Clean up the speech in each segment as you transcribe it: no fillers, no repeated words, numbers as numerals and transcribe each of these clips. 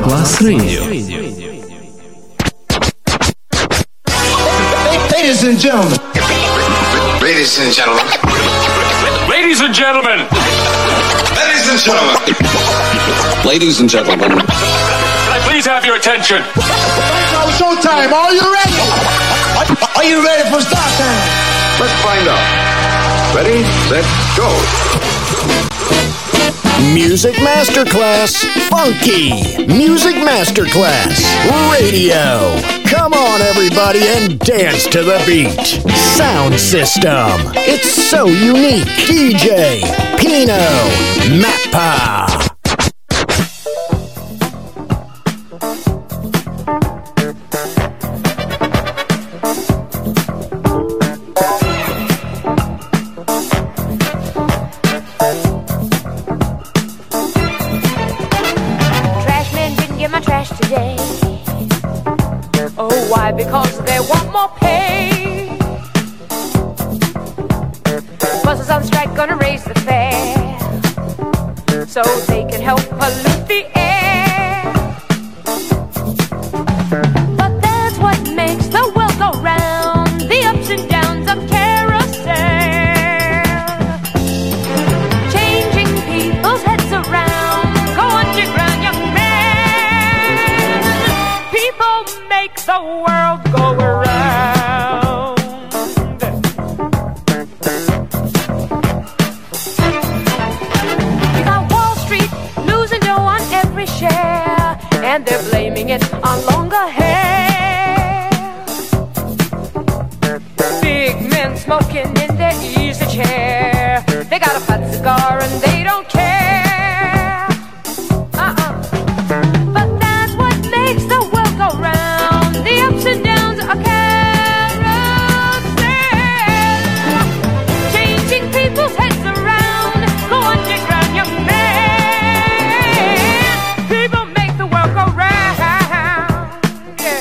Masterclass Radio. Ladies and gentlemen. Ladies and gentlemen. Ladies and gentlemen. Ladies and gentlemen. Ladies and gentlemen. Can I please have your attention? Now showtime. Are you ready? Are you ready for start time? Let's find out. Ready, set, go. Music Masterclass Funky. Music Masterclass Radio. Come on, everybody, and dance to the beat. Sound system. It's so unique. DJ Pino Mappa. Because they want more pay. Buses on strike gonna raise the fare so they can help pollute the air. But that's what makes the world go round, the ups and downs of carousel, changing people's heads around. Go underground, young man. People make the world go around. You got Wall Street losing dough on every share, and they're blaming it on longer hair. Big men smoking in their easy chair, they got a fat cigar and they don't care. But that's what makes the world go round, the ups and downs of carousel, changing people's heads around. Go underground, young man. People make the world go round. Yeah.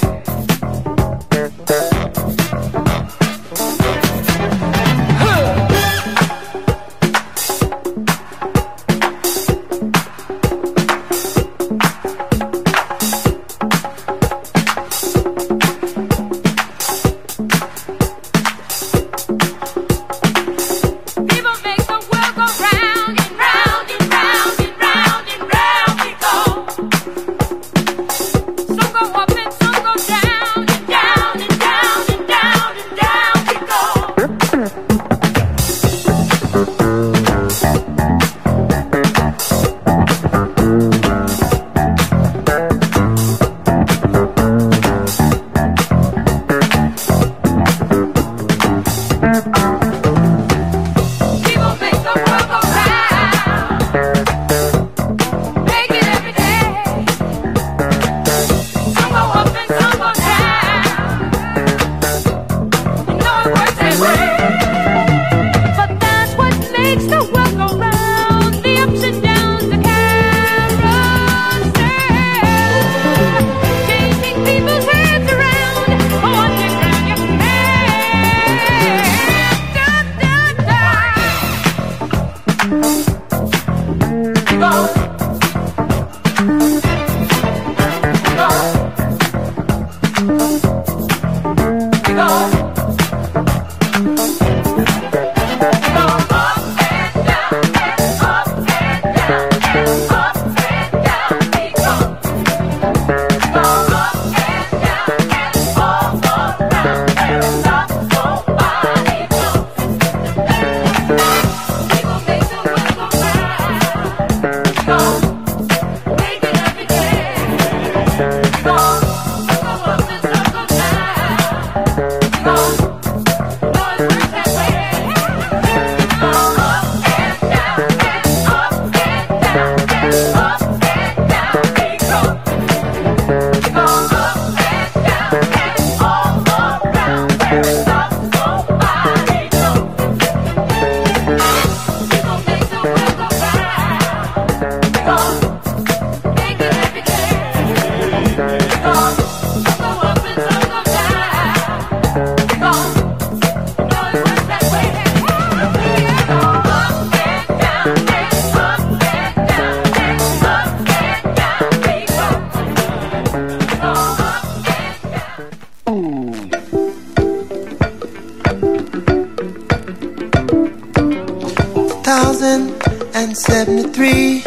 2073,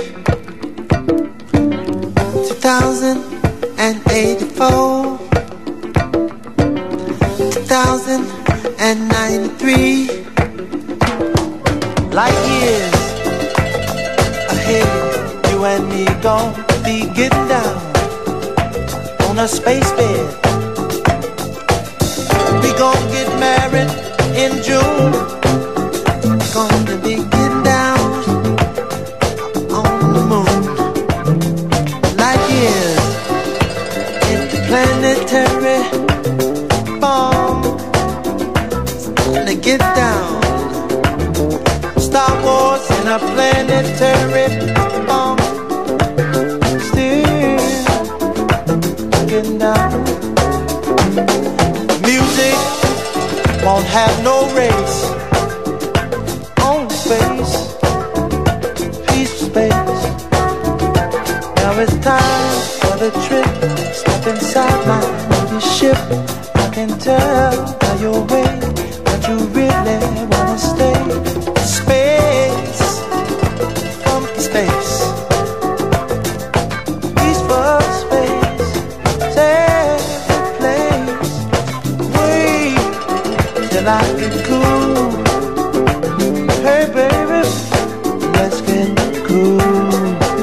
2084, 2093. Light years ahead, you and me gon' be getting down on a space bed. We gon' get married in June. Gonna be getting down on the moon. Light years interplanetary bomb. Gonna get down. Star Wars in a planetary bomb. Still getting down. Music won't have no race. On space, peace space. Now it's time for the trip. Step inside my movie ship. I can tell by your way that you really wanna stay. Space, funky space, peaceful space, safe place. Wait till I get cool. Hey baby, let's get cool.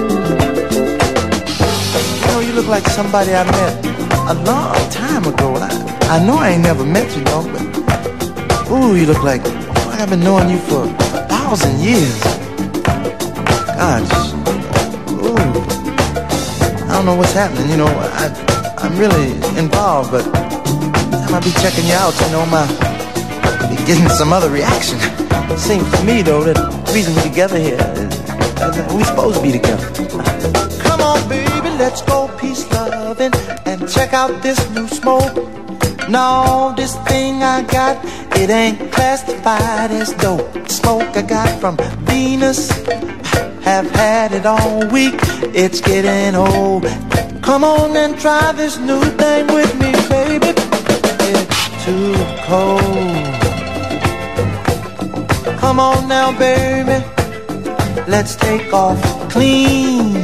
You know, you look like somebody I met a long time ago. I know I ain't never met you, though, but ooh, you look like I've been knowing you for 1,000 years. Gosh, ooh, I don't know what's happening. You know, I'm really involved, but every time I be checking you out, you know, I be getting some other reaction. Seems to me, though, that the reason we're together here is that we're supposed to be together. Come on, baby, let's go peace loving and check out this new smoke. No, this thing I got, it ain't classified as dope. Smoke I got from Venus, have had it all week. It's getting old. Come on and try this new thing with me, baby. It's too cold. Come on now, baby, let's take off clean.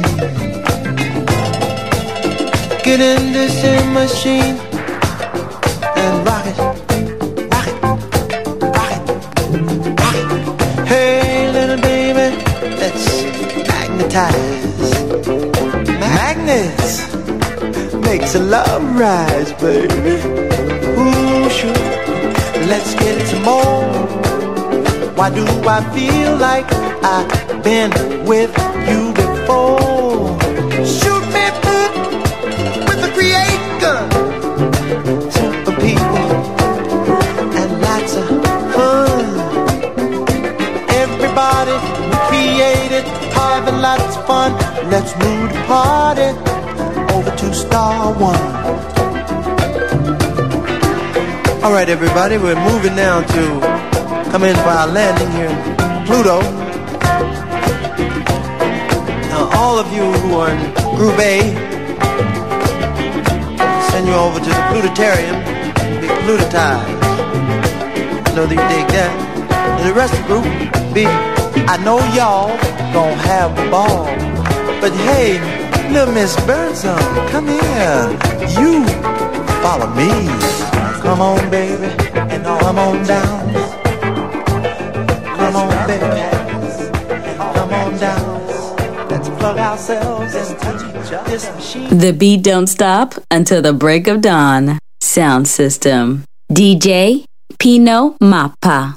Get in this machine and rock it, rock it, rock it, rock it. Hey, little baby, let's magnetize. Magnets makes a love rise, baby. Ooh, sure, let's get some more. Why do I feel like I've been with you before? Shoot me with a create gun. Super people and lots of fun. Everybody created, having lots of fun. Let's move the party over to Star One. All right, everybody, we're moving now to come in for our landing here in Pluto. Now, all of you who are in Group A, send you over to the Plutarium, be Plutotized. I know that you dig that. And the rest of the group, I know y'all gon' have a ball. But hey, little Miss Birdsong, come here. You follow me. Come on, baby, and come on down. Come on, baby, come on down. Let's plug ourselves and touch this machine. The beat don't stop until the break of dawn. Sound system. DJ Pino Mappa.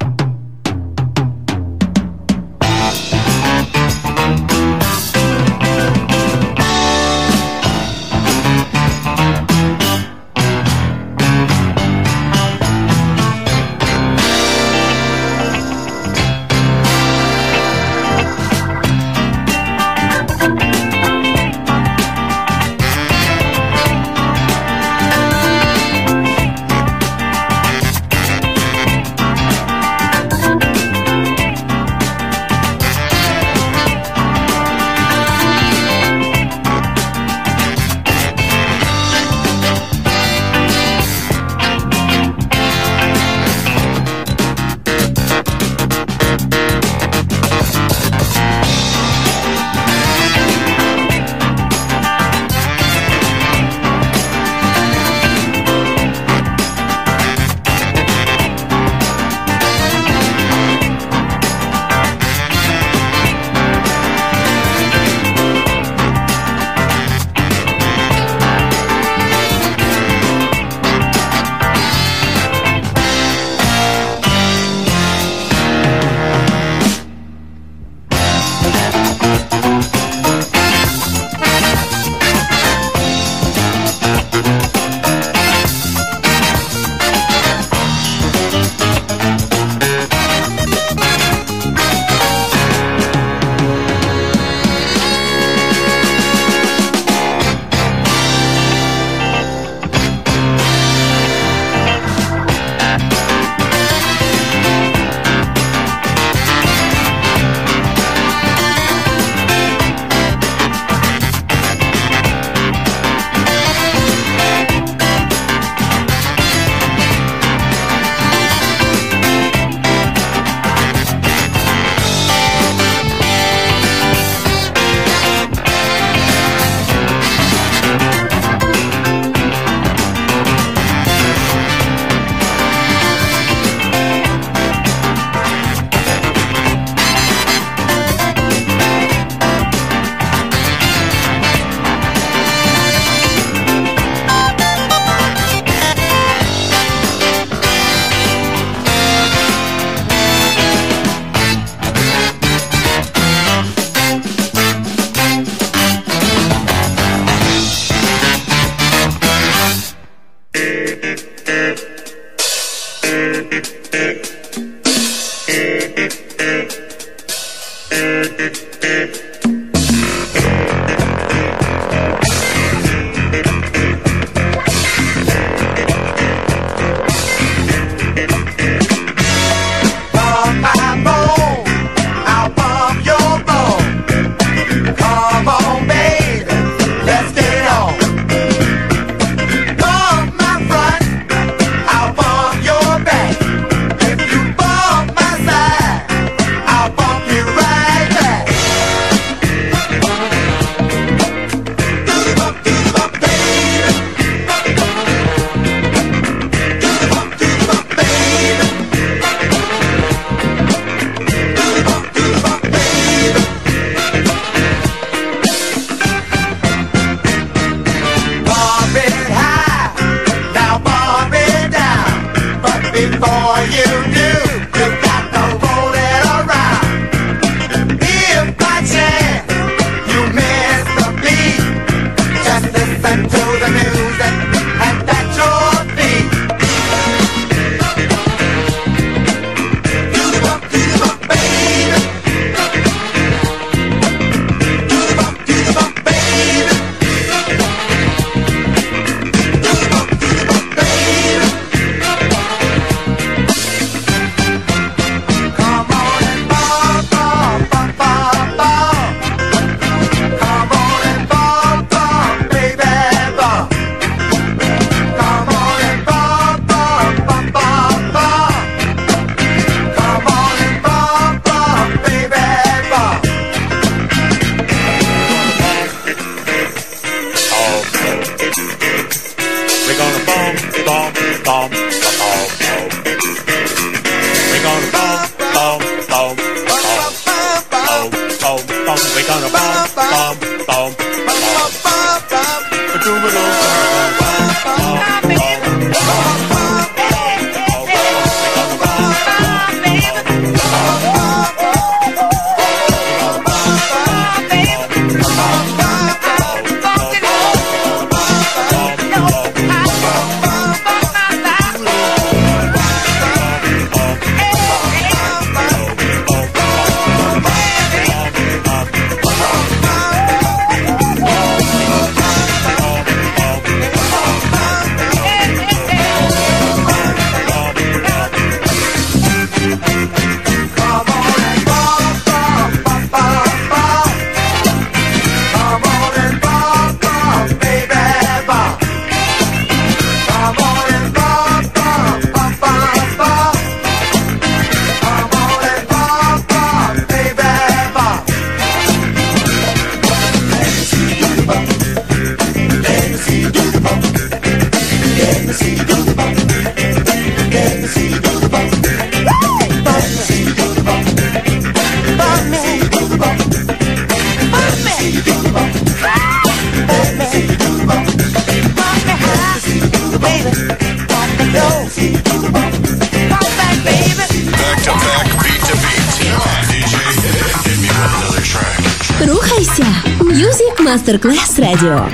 Рухайся! Music Masterclass Radio.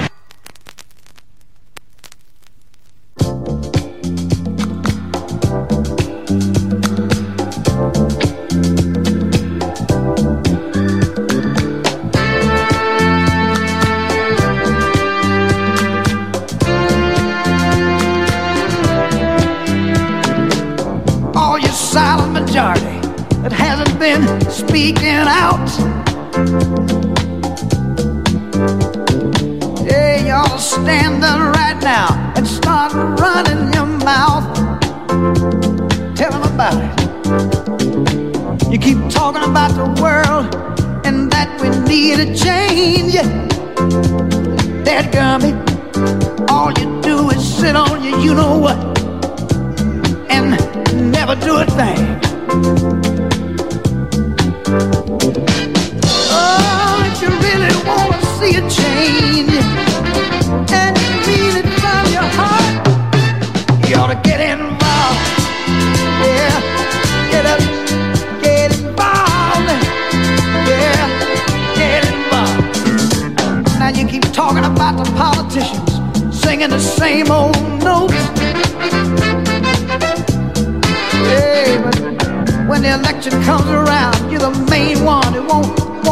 All you silent majority that hasn't been speaking out. Hey, y'all stand up right now and start running your mouth. Tell them about it. You keep talking about the world and that we need a change. Dadgummit, all you do is sit on your you-know-what and never do a thing. Oh, if you really want to see a change and you mean it from your heart, you ought to get involved. Yeah, get up, get involved. Yeah, get involved. Now you keep talking about the politicians singing the same old notes. Hey, but when the election comes around, you're the main one who won't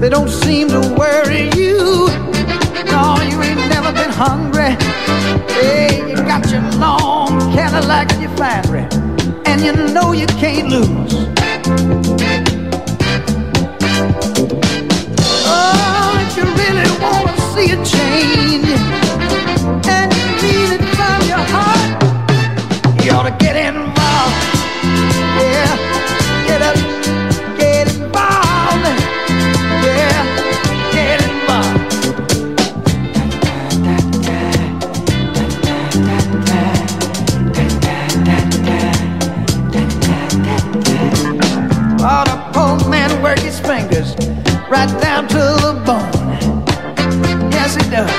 don't seem to worry you. No, you ain't never been hungry. Hey, you got your long Cadillac and your finery, and you know you can't lose. Oh, if you really wanna see a change, and you mean it from your heart, you ought to get involved. Yeah, get up, get involved. Yeah, get involved. Oh, the poor man work his fingers right down to the bone. Yes, he does.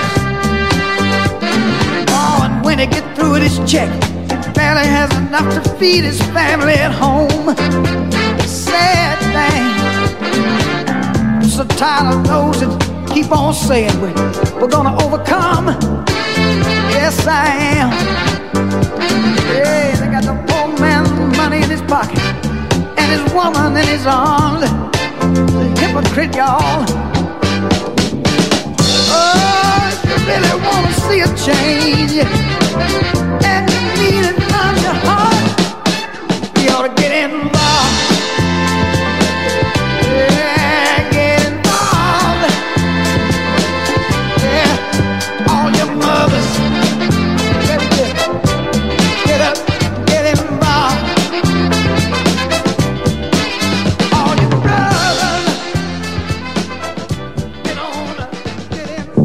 Oh, and when he gets through with his check, he barely has enough to feed his family at home. Sad thing. I'm so tired of those that keep on saying we're gonna overcome. Yes, I am. Yeah, they got the poor man's money in his pocket and his woman in his arms. The hypocrite, y'all. Oh, if you really want to see a change, and you mean it from your heart, you ought to get involved. Yeah, get involved. Yeah, all your mothers, get up, get involved. All your brothers, get on up, get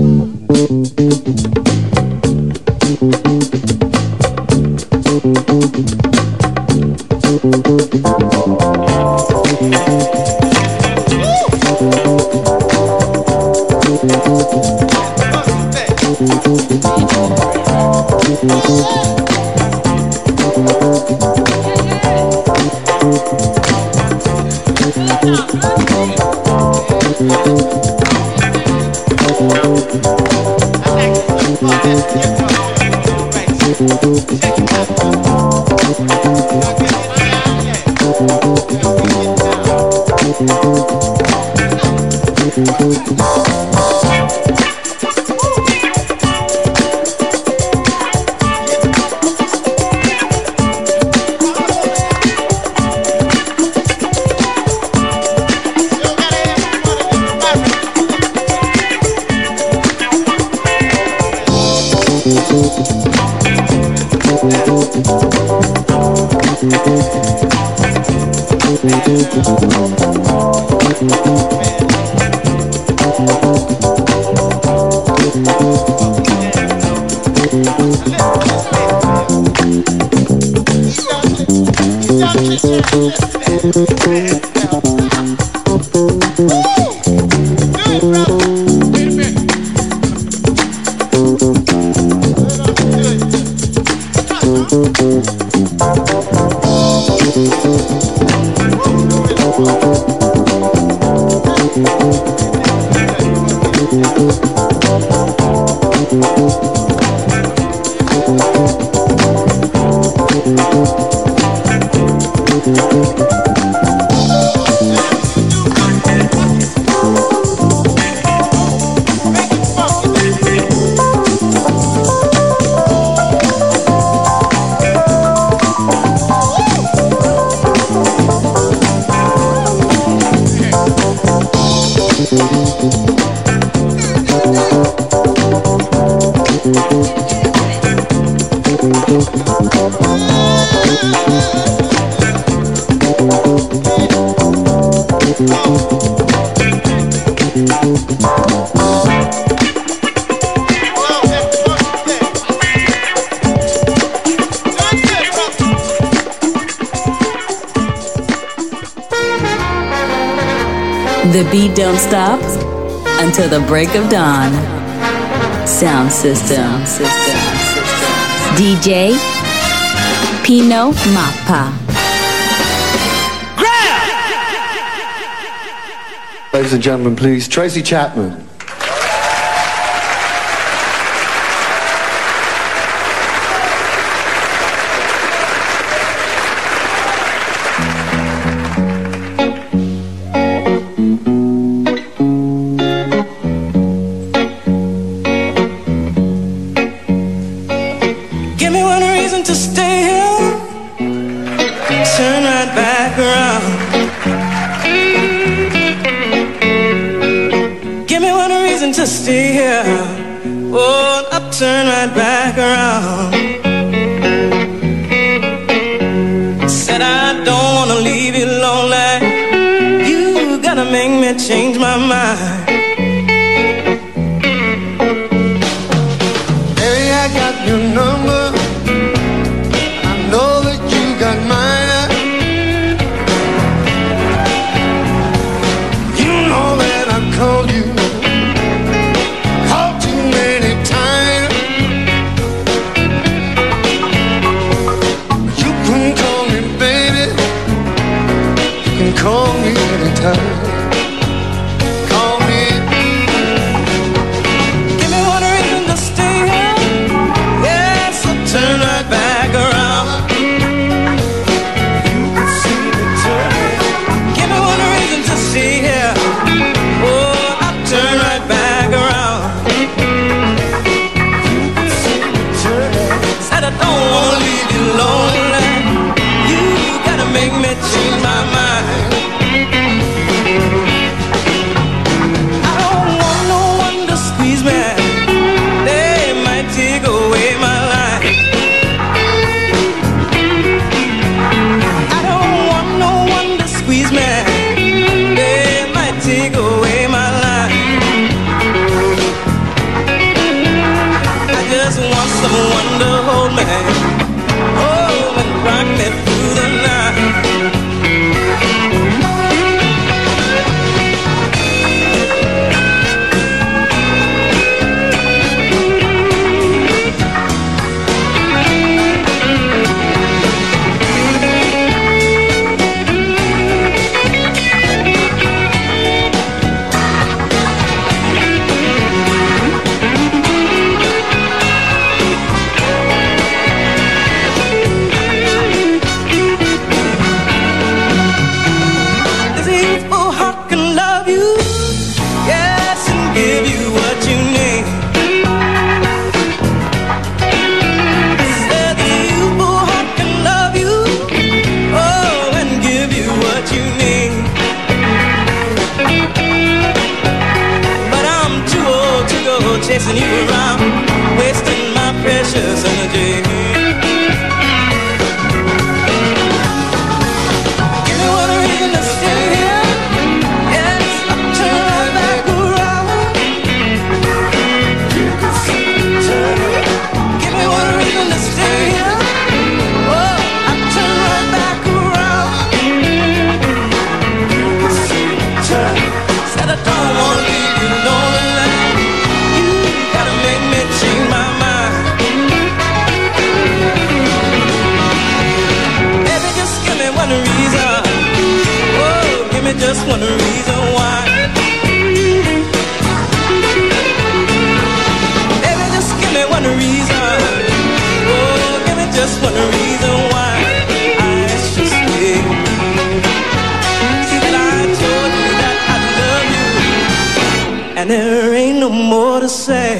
The beat don't stop until the break of dawn. Sound system. DJ Pino Mappa. Ladies and gentlemen, please, Tracy Chapman. turn right back around. Give me one reason to stay here. Oh, I'll turn right back around. Said I don't wanna leave you lonely. You gotta make me change my mind. Baby, I got your number. I know that you got mine. You know that I called you. Called too many times. You can call me baby. You can call me anytime. Call me. Give me one reason to stay here. Yes, I'll turn right back around. You can see me turning. Give me one reason to stay here. Oh, I'll turn right back around. You can see me turning. Said I don't wanna leave you lonely. You gotta make me change my mind. I don't want no one to squeeze me. They might take away my life. I don't want no one to squeeze me. They might take away my life. I just want someone to hold me. Oh, and rock me through the night. This youthful heart can love you, yes, and give you what you need. Said the youthful heart can love you, oh, and give you what you need. But I'm too old to go chasing you around, wasting my precious energy. Give me one reason to stay here. Yes, I'll turn right back around. You can see me turning. Give me one reason to stay here. Oh, I'll turn right back around. You can see me turning. Said I don't wanna leave you lonely. You gotta make me change my mind. Baby, just give me one reason. Oh, give me just one reason why. Baby, just give me one reason. Oh, give me just one reason why I should stay. Said I told you that I love you, and there ain't no more to say.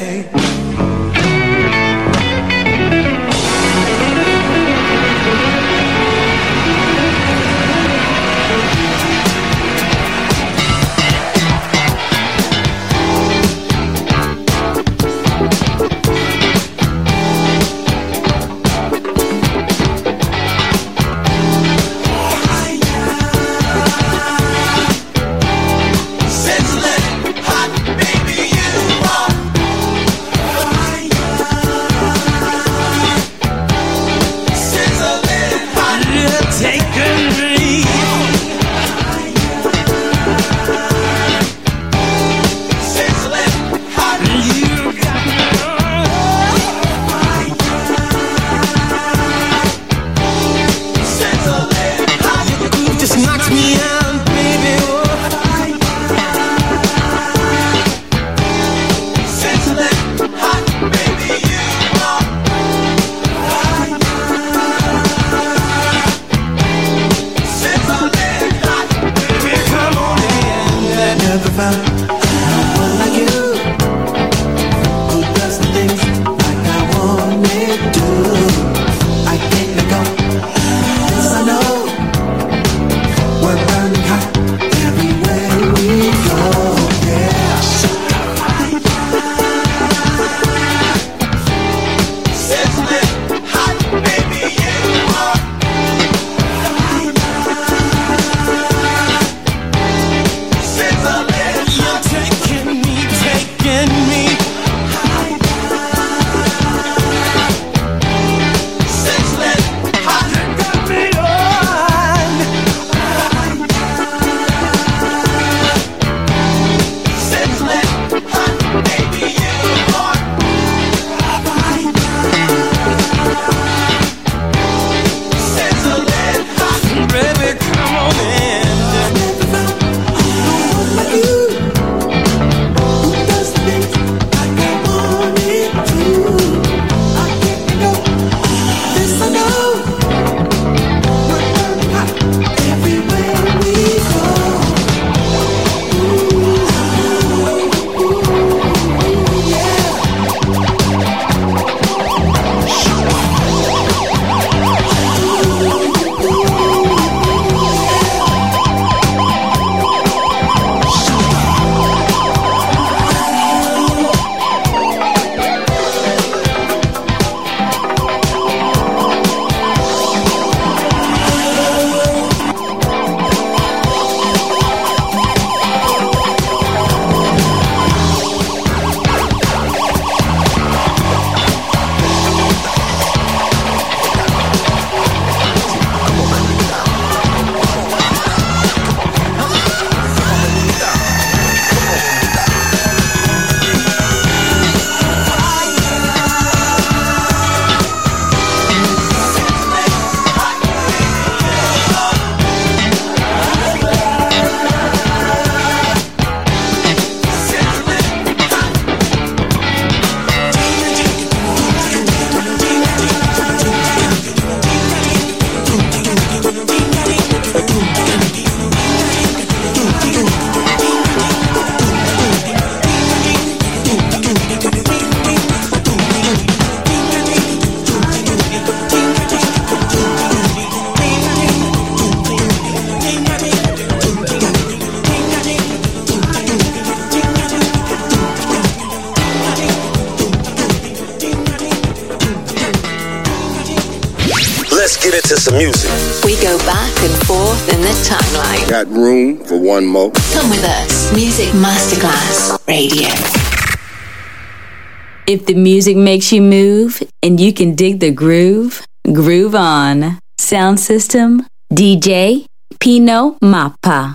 get into some music. We go back and forth in the timeline. Got room for one more? Come with us. Music Masterclass Radio. If the music makes you move and you can dig the groove, groove on. Sound system, DJ Pino Mappa.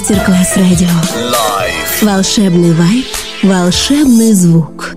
Мастер-класс радио. Live. Волшебный вайб, волшебный звук.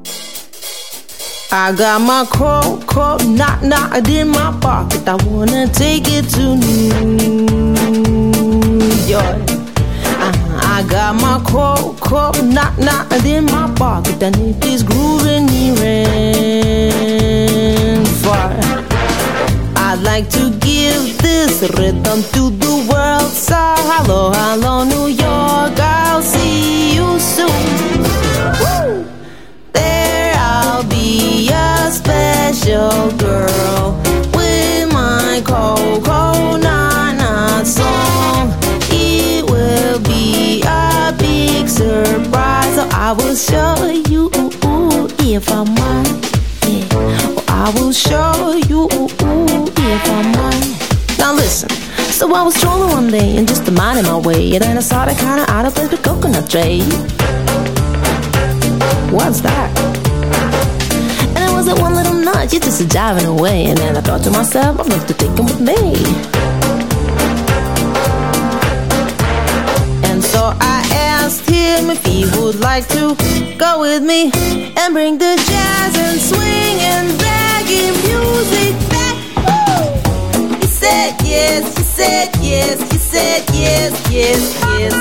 I got my coat, knot in my pocket. I wanna take it to New York. I got my coat, knot in my pocket, and it is grooving near and far. I'd like to give this rhythm to the world. So hello, hello, New York, I'll see you soon. Woo! There I'll be a special girl with my coconut song. It will be a big surprise. So I will show you if I'm mine. Yeah. I will show you if I'm mine. Now listen. So I was strolling one day and just minding my way, and then I saw that kind of out of place with coconut tray. What's that? And it was that one little nut, you just driving away. And then I thought to myself, I'd love to take him with me. And so I asked him if he would like to go with me and bring the jazz and swing and reggae music back. Woo! He said yes, he said yes, he said yes, yes, yes.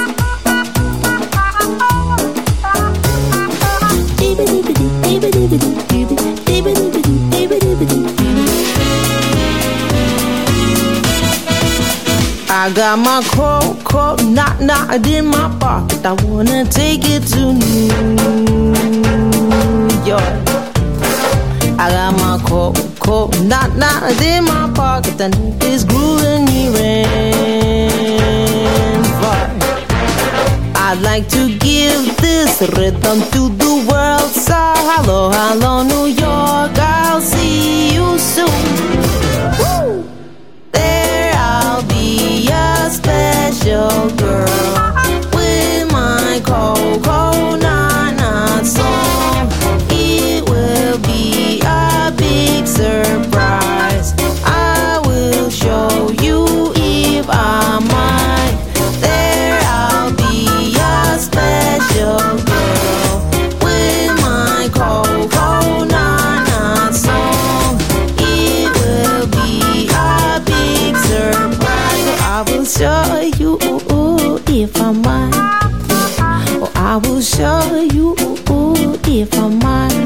I got my coat, knot in my pocket. I wanna take it to New York. I got my coat, knot in my pocket, and it is grooving near and far. I'd like to give this rhythm to the world. So hello, hello, New York, I'll see you soon. Woo! There I'll be a special girl with my coconut song. It will be a big surprise. I will show you if I'm mine. There I'll be a special girl with my coconut song. It will be a big surprise. I will show you if I'm mine. Oh, I will show you if I'm mine.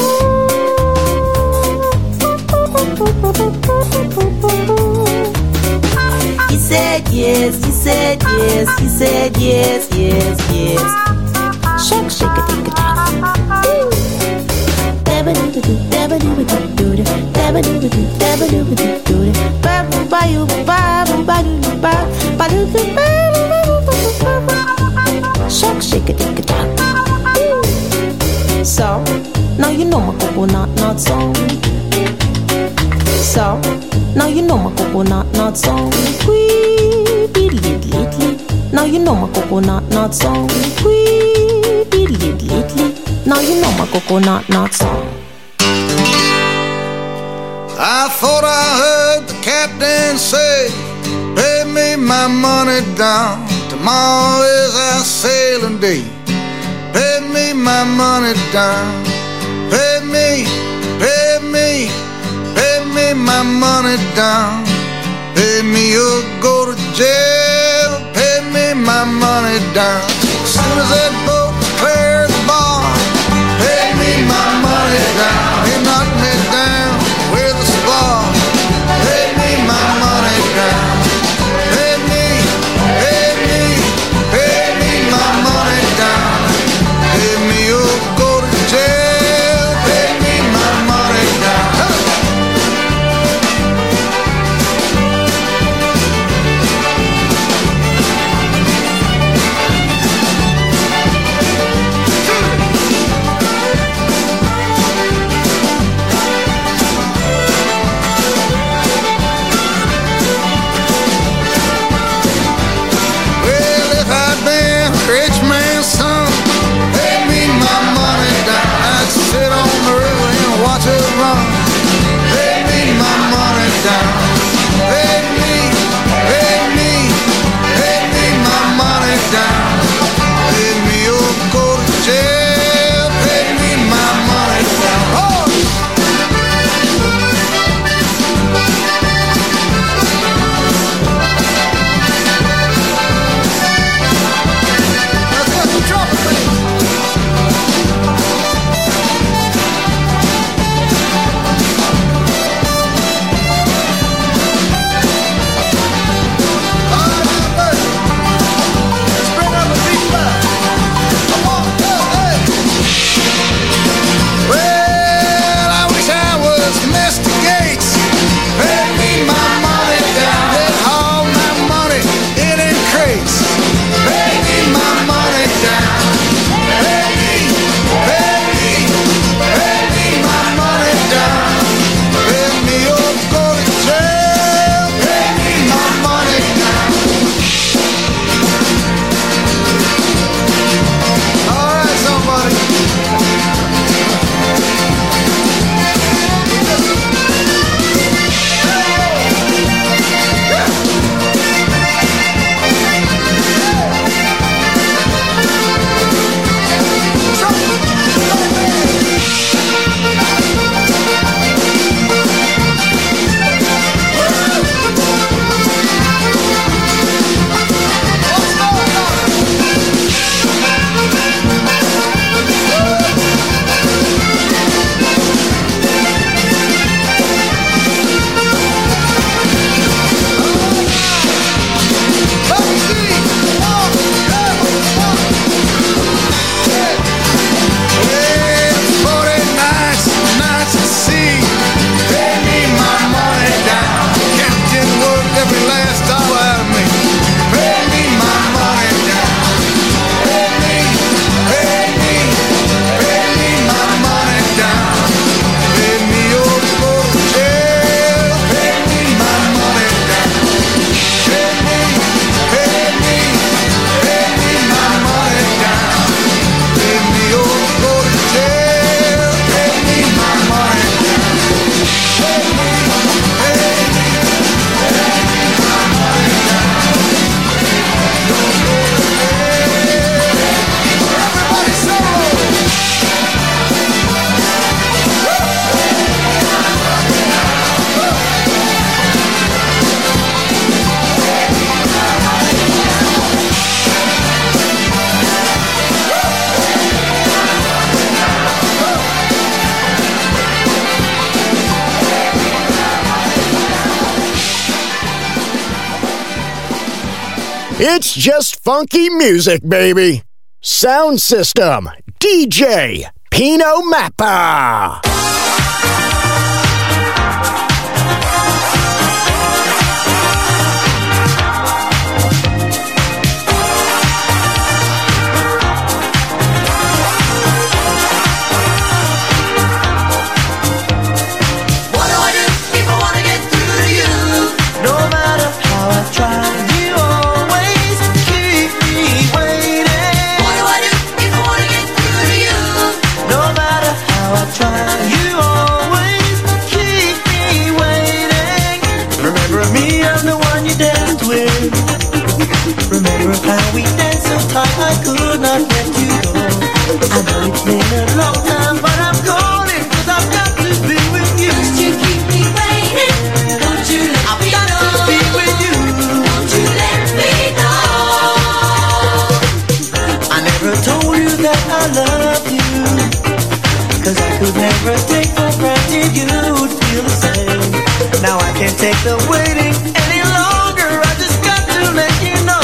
He said yes, he said yes, he said yes, yes, yes. Shake, shake it, take it down. Shake, shake it, take it down. So, now you know my coconut song. So, now you know my coconut song. Now you know my coconut song. Now you know my coconut song. I thought I heard the captain say, pay me my money down. Tomorrow is our sailing day. Pay me my money down. Pay me, pay me, pay me my money down. Pay me or go to jail. Pay me my money down. As soon as that boat clears the bar, pay me my money down. He knocked me down with a spar. Pay me my money down. Pay me, pay me, pay me my money down. Pay me or go to jail. Pay me my money down. It's just funky music, baby. Sound System, DJ Pino Mappa. How we danced so tight I could not let you go. I know it's been a long time, but I'm calling 'cause I've got to be with you. Don't you keep me waiting, don't you let I've me got go. To be with you, don't you let me go. I never told you that I loved you, 'cause I could never take for granted you'd feel the same. Now I can't take the waiting any longer, I just got to let you know.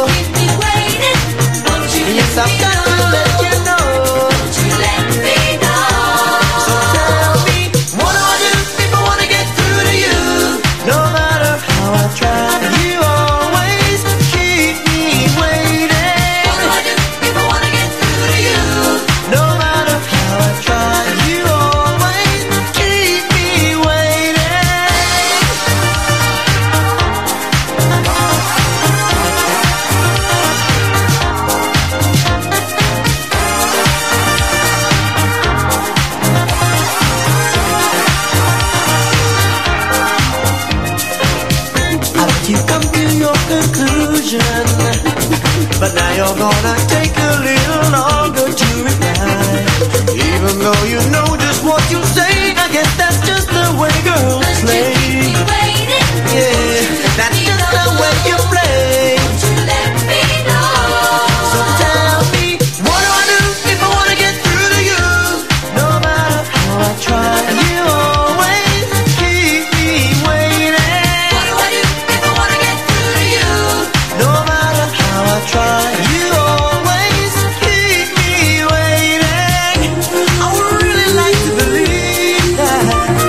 Yes, I've got to let you know. Don't you let me know. So tell me, what do I do if I want to get through to you? No matter how I try, you always keep me waiting. What do I do if I want to get through to you? No matter how I try, you always keep me waiting. You come to your conclusion, but now you're gonna take a little longer to reply. Even though you know just what you say, I guess that's just the way girls play. Yeah, that's just the way you play. Don't you let me know. So tell me, what do I do if I wanna get through to you? No matter how I try, you always keep me waiting. What do I do? No matter how I try, you always keep me waiting. I would really like to believe that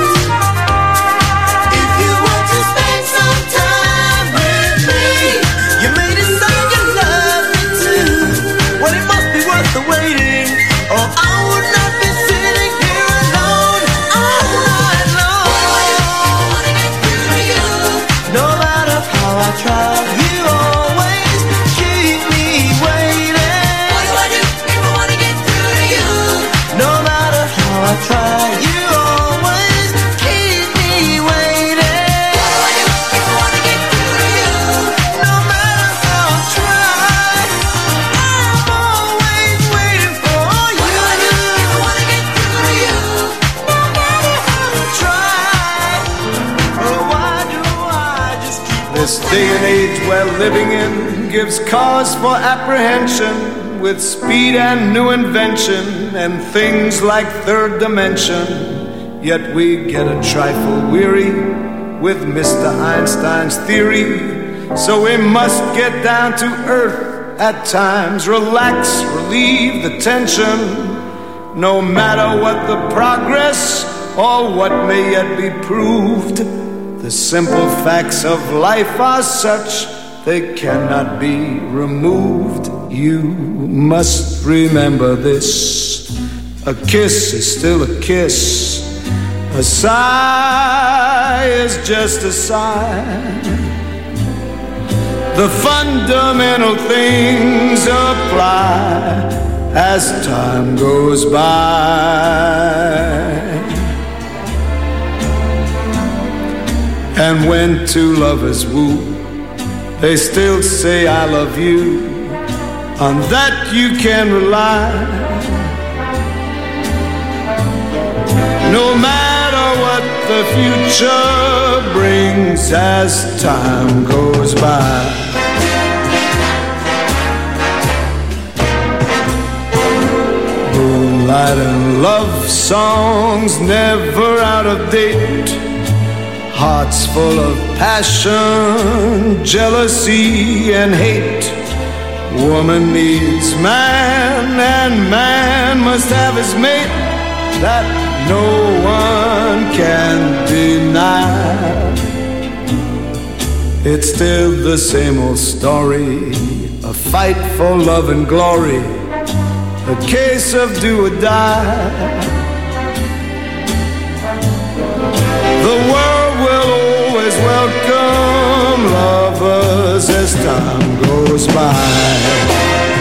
if you want to spend some time with me, you may decide you love me too. Well, it must be worth the waiting, or I would not be sitting here alone all night long. What do I do if I want to get through to you? No matter how I try, you always keep me waiting. What do I do if I want to get through to you? No matter how I try, you always keep me waiting. What do I do if I want to get through to you? No matter how I try, I'm always waiting for you. What do I do if I want to get through to you? No matter how I try, oh, why do I just keep This day and age we're living in gives cause for apprehension, with speed and new invention and things like third dimension. Yet we get a trifle weary with Mr. Einstein's theory. So we must get down to earth at times, relax, relieve the tension. No matter what the progress or what may yet be proved, the simple facts of life are such they cannot be removed. You must remember this: a kiss is still a kiss, a sigh is just a sigh. The fundamental things apply as time goes by. And when two lovers woo, they still say I love you. On that you can rely. No matter what the future brings as time goes by. Moonlight and love songs never out of date. hearts full of passion, jealousy, and hate. Woman needs man, and man must have his mate. That no one can deny. It's still the same old story, a fight for love and glory, a case of do or die. The world will always welcome lovers as time goes by.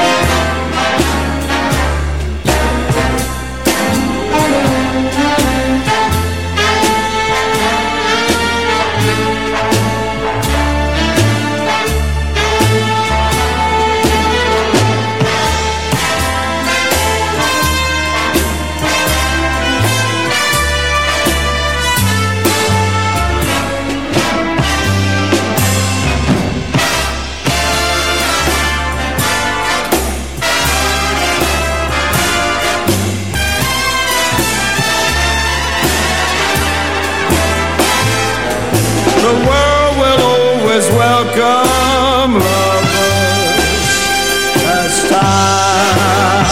Welcome lovers as time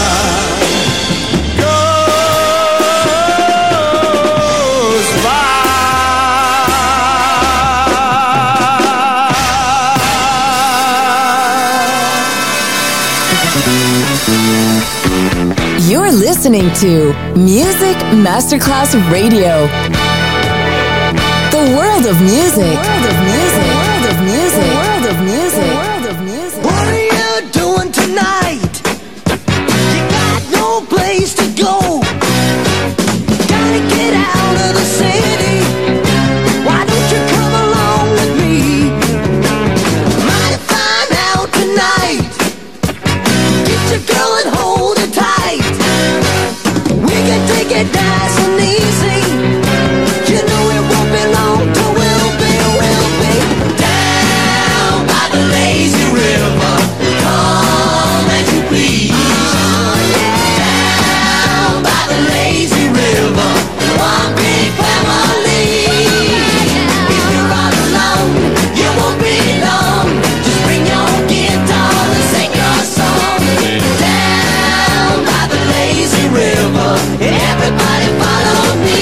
goes by. You're listening to Music Masterclass Radio. The world of music. What are you doing tonight? You got no place to go. Gotta get out of the city. Why don't you come along with me? Might find out tonight. Get your girl and hold her tight. We can take it nice and easy. You know it won't be long till we'll be down by the lazy river. Come as you please. Down by the lazy river. One big family. If you're all alone, you won't be long. Just bring your guitar and sing your song. Down by the lazy river. Everybody follow me.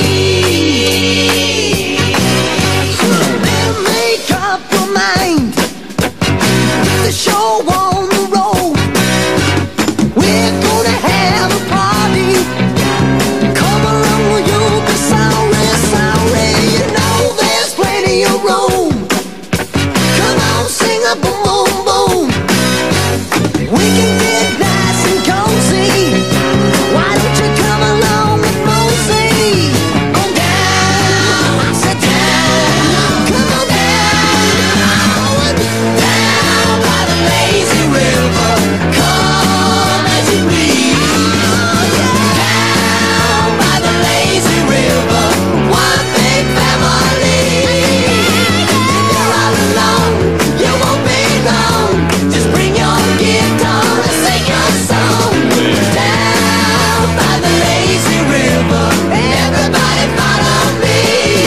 Make up your mind. The show on the road. We're gonna have a party. Come along, you'll be sorry, sorry. You know there's plenty of room. Come on, sing a boom, boom, boom. We can get nice and cozy. Why don't you come along with Mosey? Go down, sit down, come on down, down by the lazy river. Come as you please. Down by the lazy river. One big family. If you're all alone, you won't be long. Just bring your guitar and sing your song. Down by the lazy river. Everybody follow me.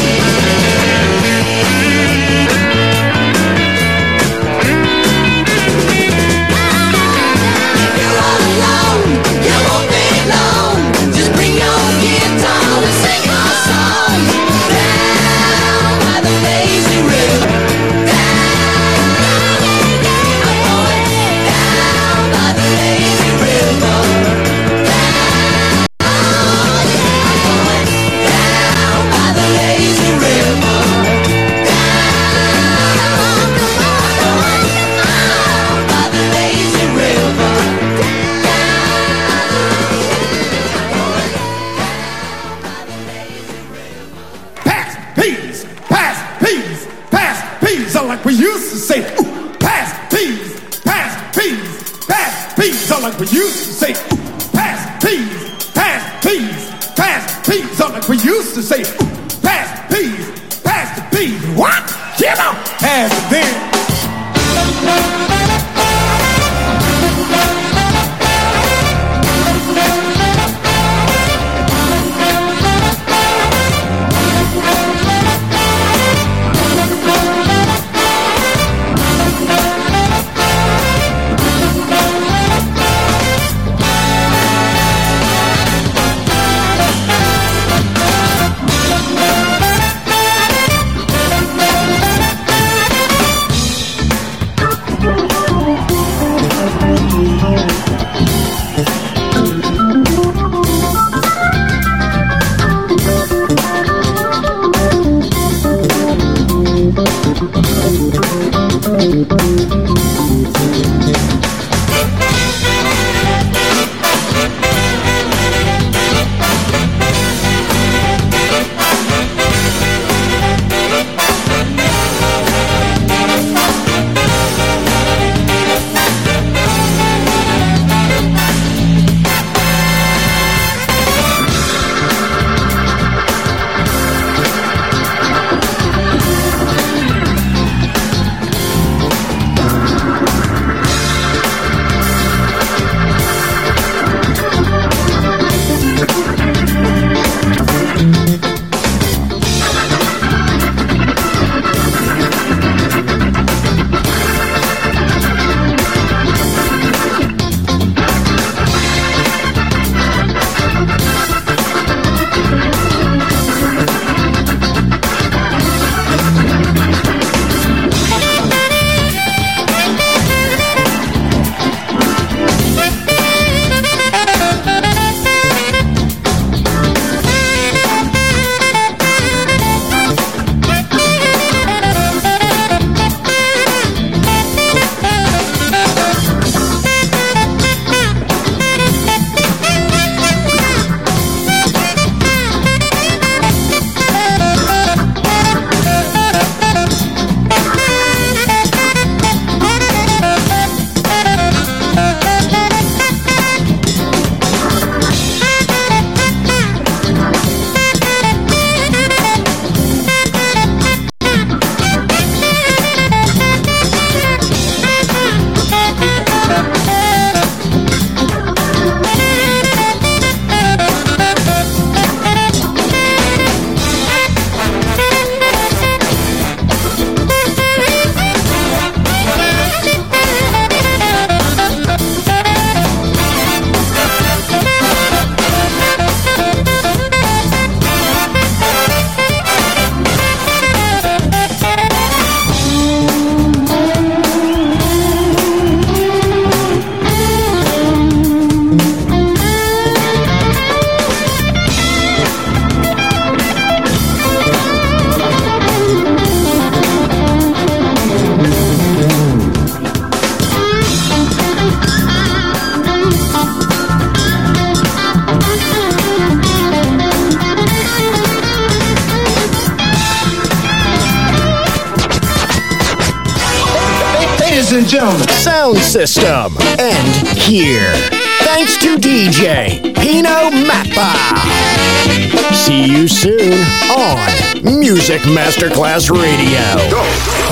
If you're all alone, you won't be long. Just bring your guitar and sing your song. Down by the lazy river. Down by the lazy river. Down by the lazy river. Down by the lazy river. Pass, peas, pass, peas, pass, peas. All like we used to say. Ooh, pass, peas, pass, peas, pass, peas. All like we used to say. Ooh, pass, peas, pass, peas, pass, peas. All like we used to say. Ooh, pass, peas, pass the peas. What? Get up, pass it then. Ladies and gentlemen, Sound System. And here, thanks to DJ Pino Mappa. See you soon on Music Masterclass Radio.